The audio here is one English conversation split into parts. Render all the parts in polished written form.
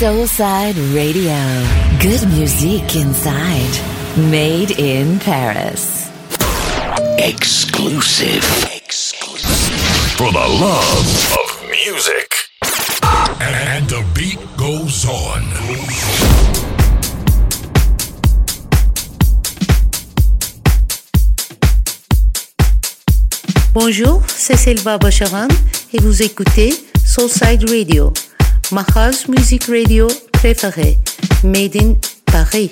Soulside Radio. Good music inside. Made in Paris. Exclusive. For the love of music. And the beat goes on. Bonjour, c'est Selva Bacharan et vous écoutez Soulside Radio, ma house music radio préférée, made in Paris.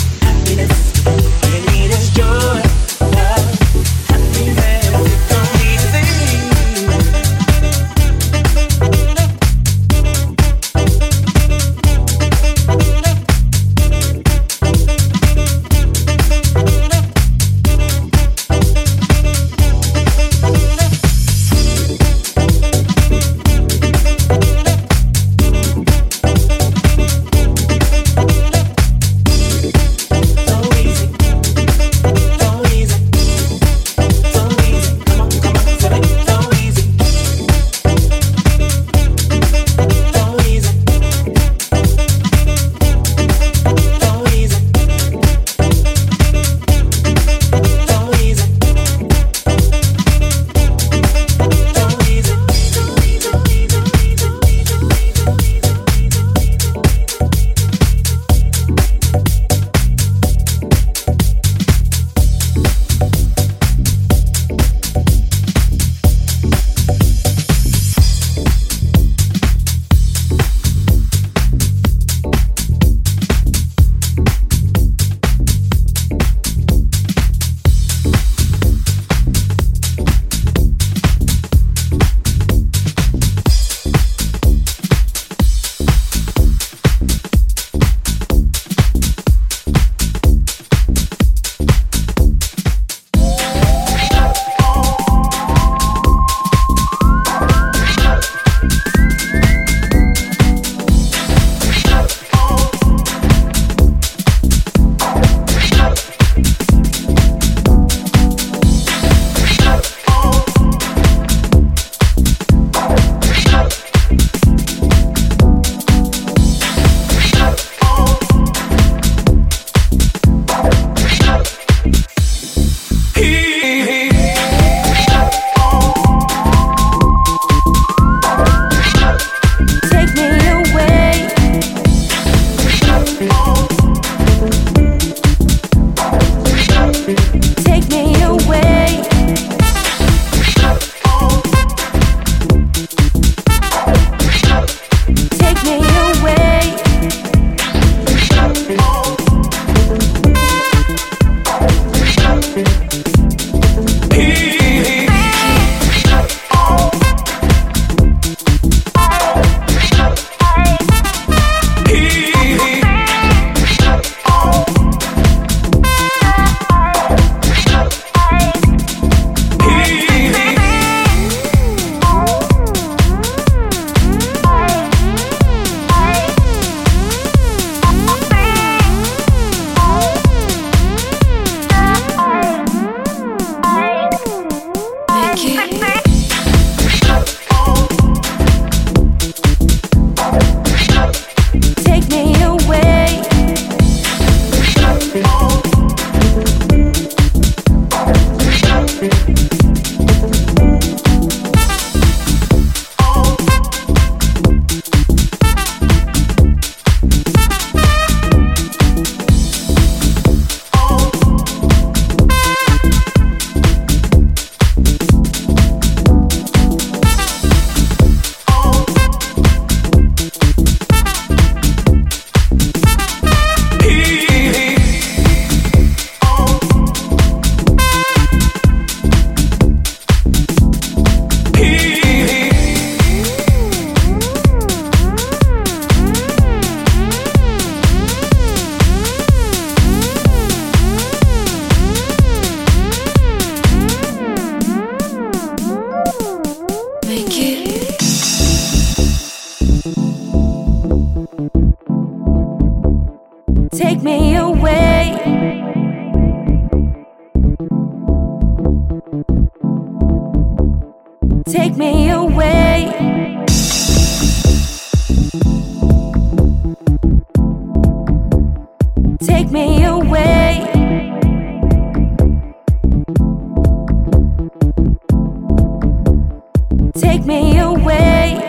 Joy, love, happiness. Take me away. Take me away. Take me away. Take me away.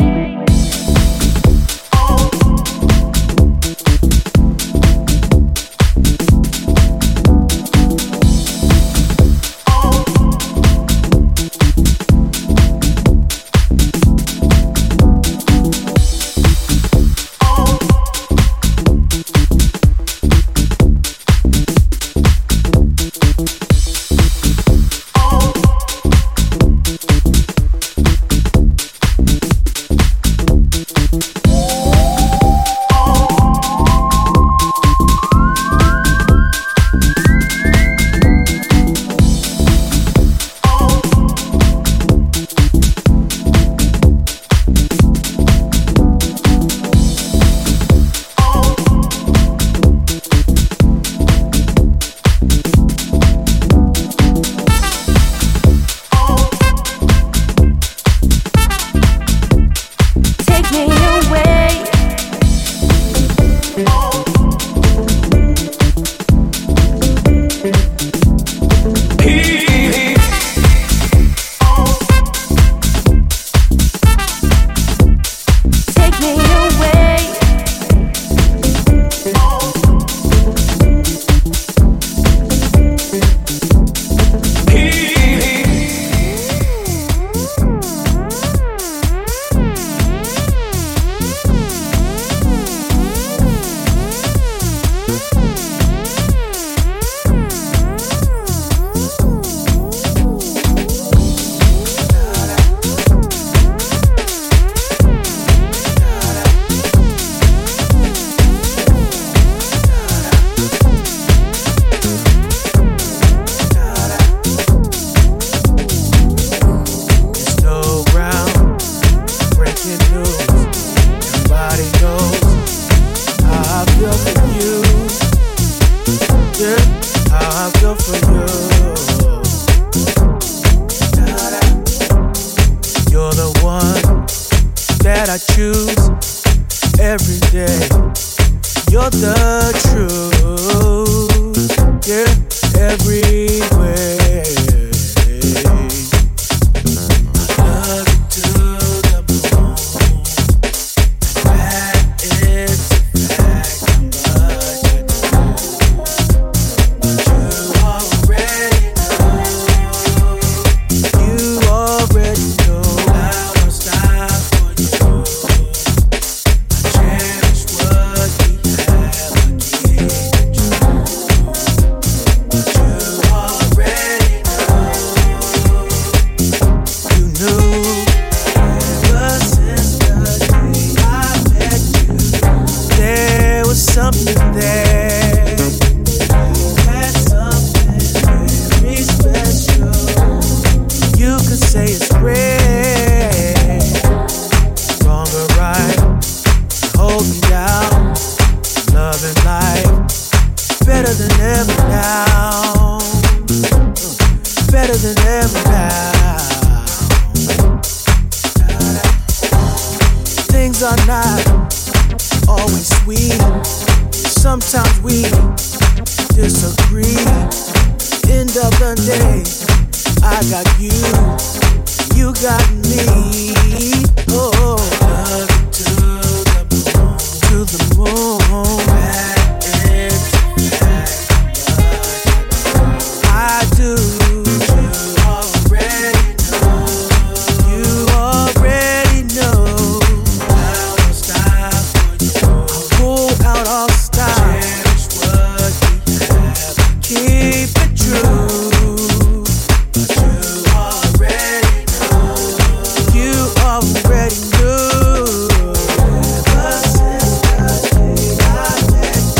better than ever now. Things are not always sweet. Sometimes we disagree. End of the day, I got you, you got me. Oh, to the moon. I do. You already know. I'll pull out all style. Keep it true. You already knew. Ever since the day I met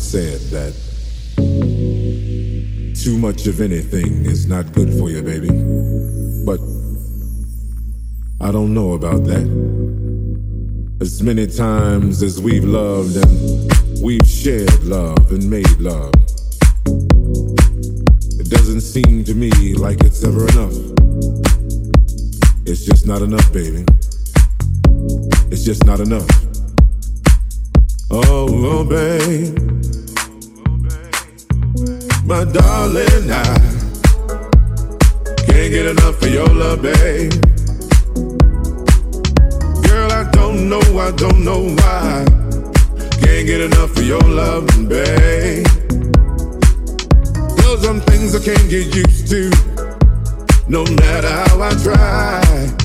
said that too much of anything is not good for you, baby. But I don't know about that. As many times as we've loved and we've shared love and made love, it doesn't seem to me like it's ever enough. It's just not enough, baby. It's just not enough. Oh, babe, my darling, I can't get enough of your love, babe. Girl, I don't know why. Can't get enough of your love, babe. There's some things I can't get used to, no matter how I try.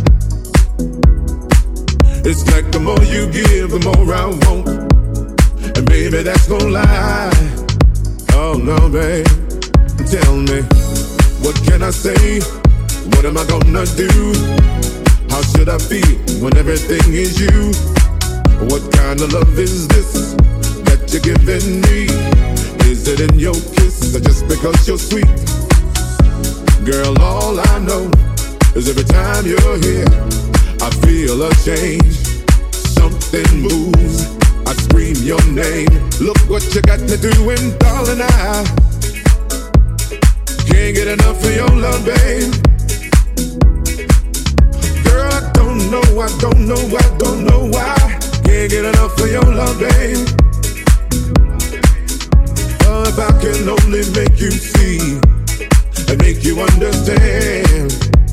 It's like the more you give, the more I want. And baby, that's no lie. Oh no, babe, tell me, what can I say? What am I gonna do? How should I feel when everything is you? What kind of love is this that you're giving me? Is it in your kiss or just because you're sweet? Girl, all I know is every time you're here, I feel a change. Something moves, I scream your name. Look what you got me doing, darling, I can't get enough of your love, babe. Girl, I don't know why. Can't get enough of your love, babe. Oh, if I can only make you see and make you understand.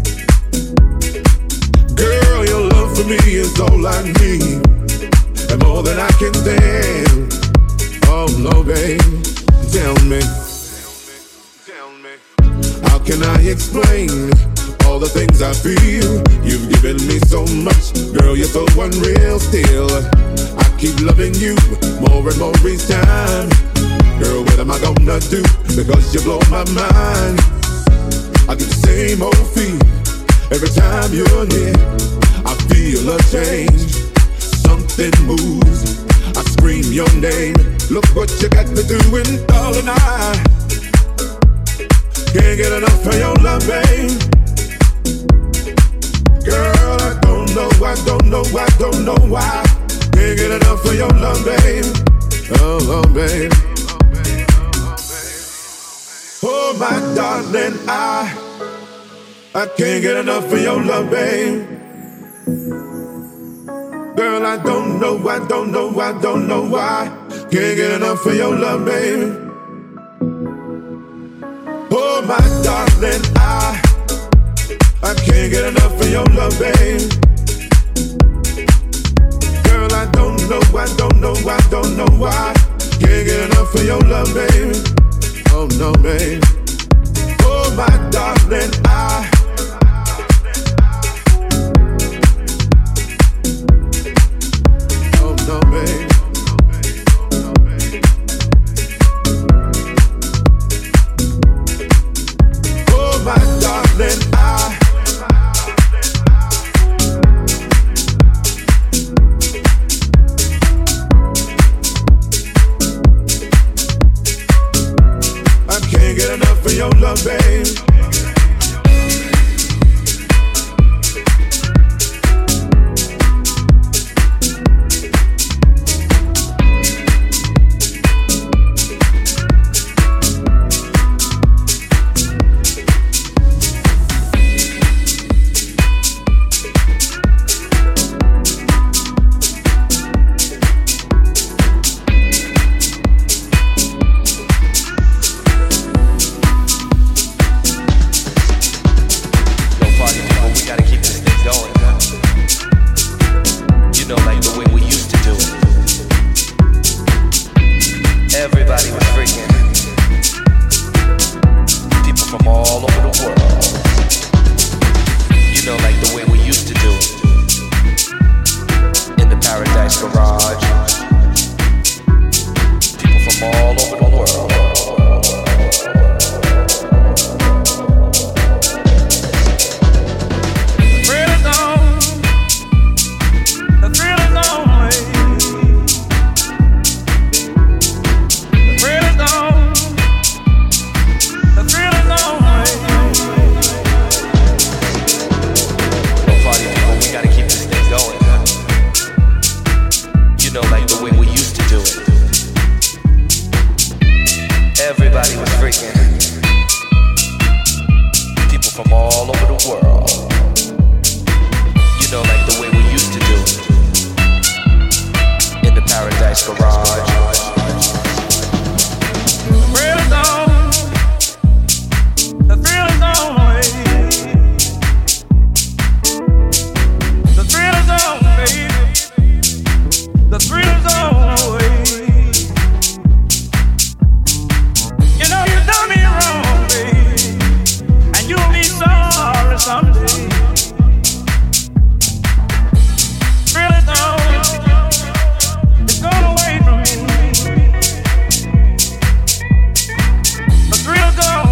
Girl, your love for me is all I need, and more than I can stand. Oh no, babe, tell me, how can I explain all the things I feel? You've given me so much, girl, you're so unreal still. I keep loving you more and more each time. Girl, what am I gonna do? Because you blow my mind. I get the same old feel every time you're here. I feel a change. Something moves, I scream your name. Look what you got me doing, darling, I can't get enough of your love, babe. Girl, I don't know why. Can't get enough of your love, babe. Oh, babe. Oh, my darling, I can't get enough of your love, babe. Girl, I don't know why. Can't get enough of your love, babe. Oh, my darling, I can't get enough of your love, babe. Girl, I don't know why. Can't get enough of your love, babe. Oh no, babe. Oh, my darling, oh no, babe. Oh, my darling, get enough of your love, babe. from all over the world. You know, like the way we used to do it in the Paradise Garage. The thrill is on, the thrill is on, baby. The thrill is on, you know you done me wrong, baby, and you'll be sorry someday. Thrill is on, it's gone away from me. The thrill is on.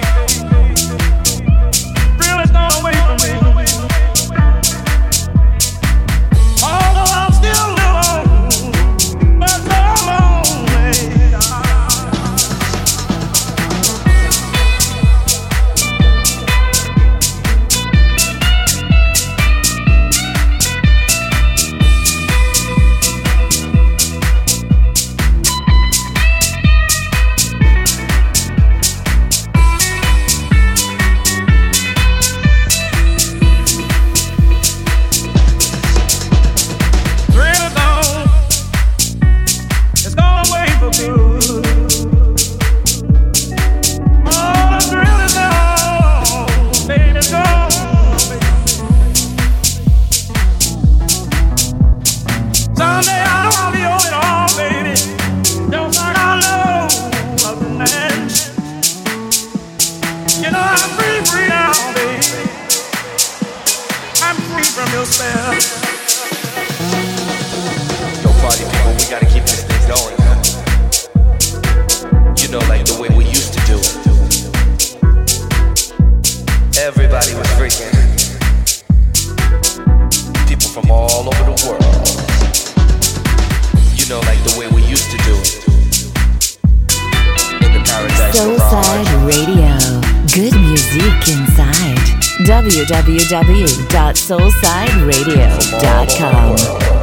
www.soulsideradio.com.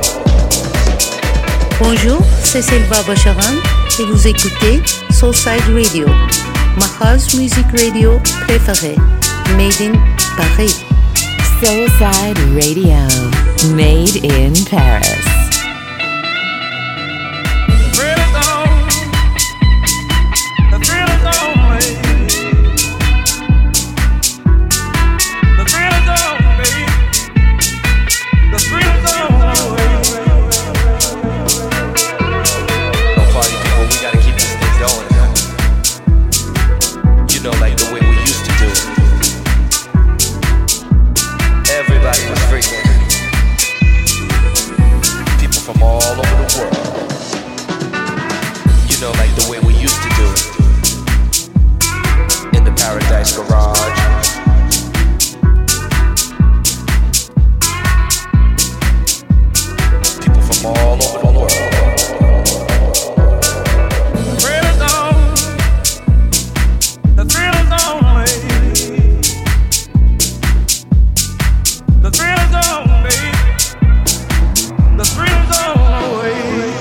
Bonjour, c'est Selva Bacharan et vous écoutez Soulside Radio, ma house music radio préférée, made in Paris. Soulside Radio, made in Paris. The thrill is on away.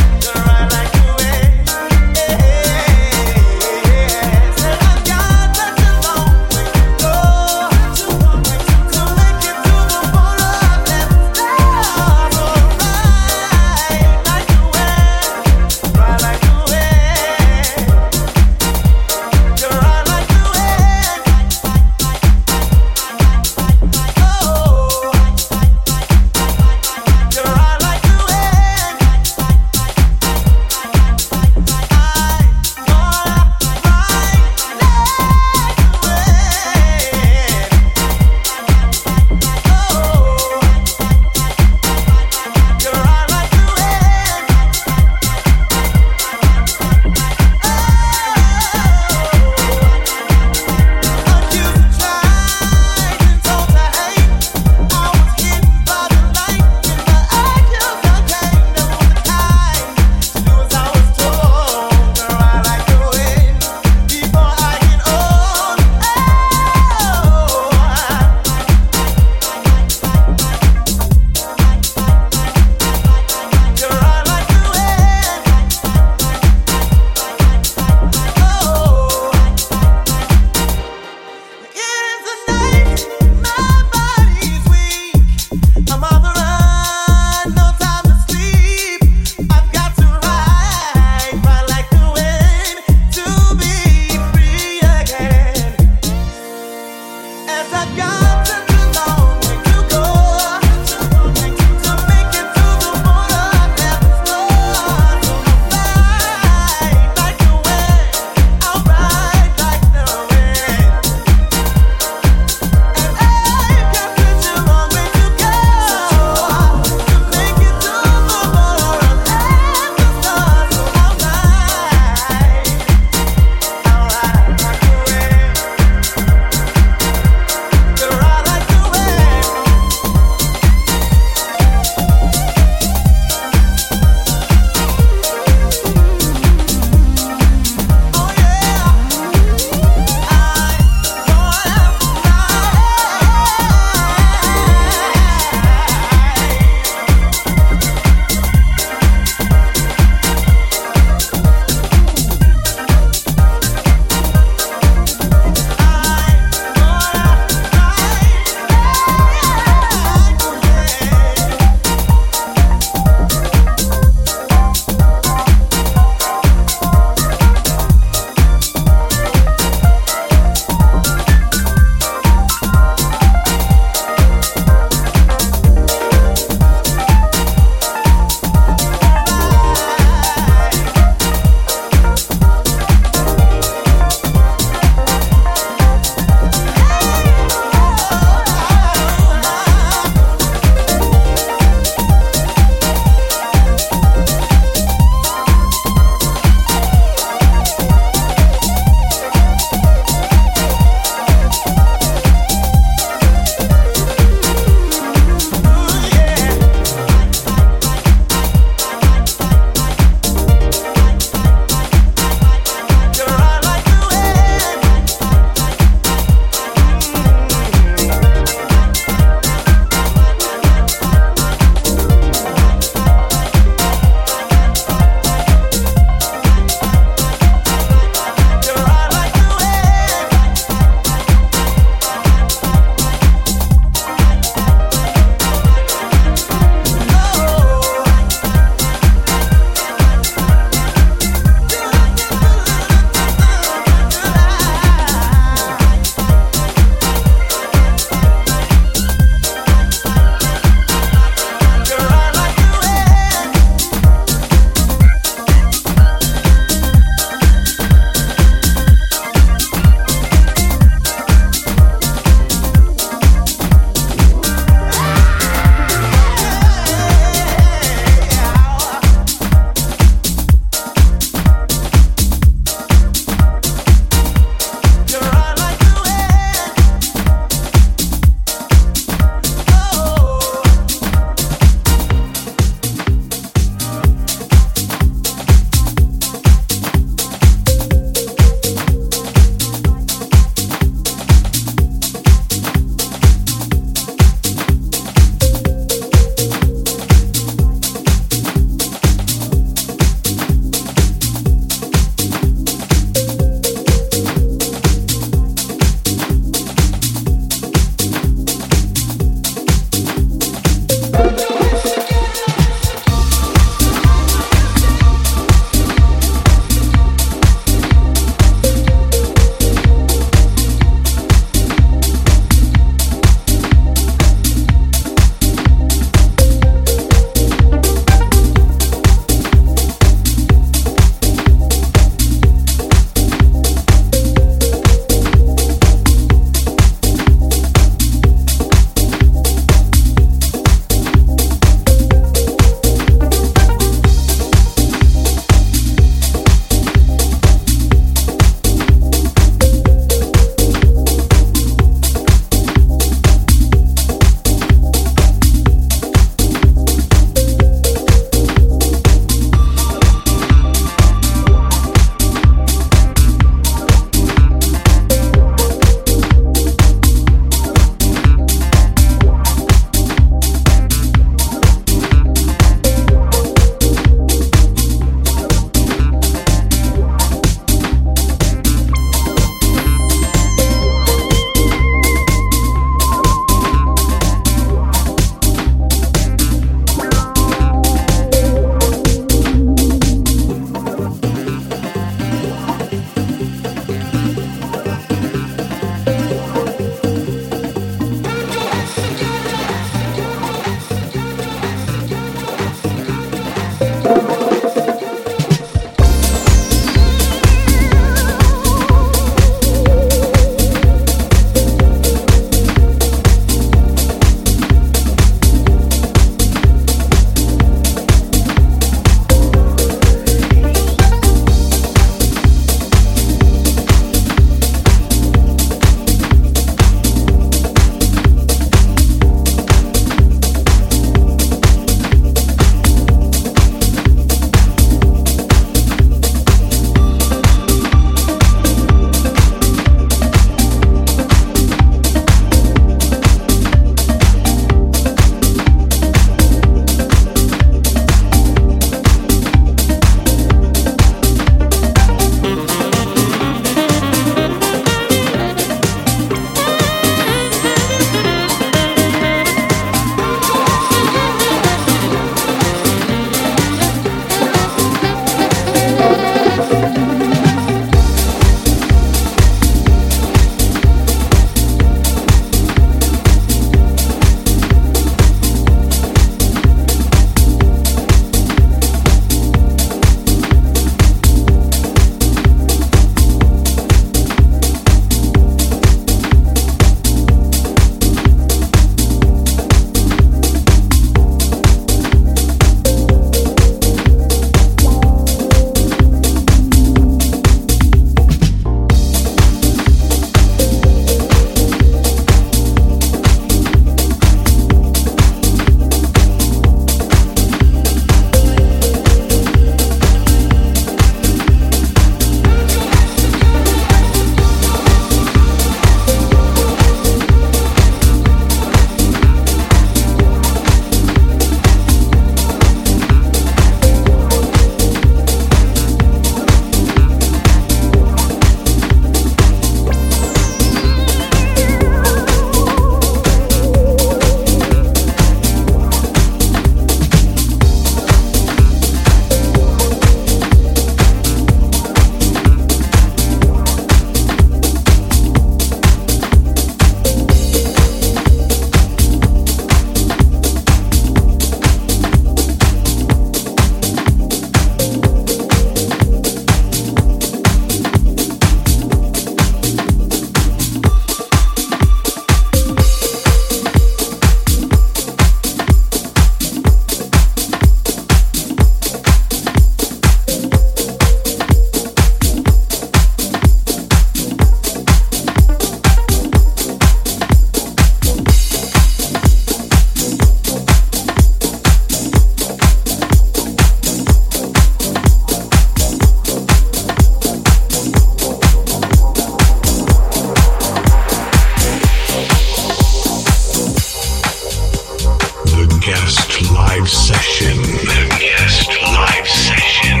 guest live session. The guest live session.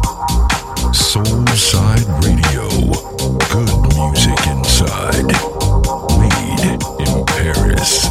Soulside Radio. Good music inside. Made in Paris.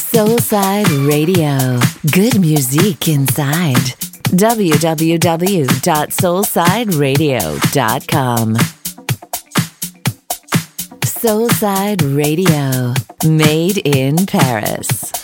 Soulside Radio. Good music inside. www.soulsideradio.com. Soulside Radio. Made in Paris.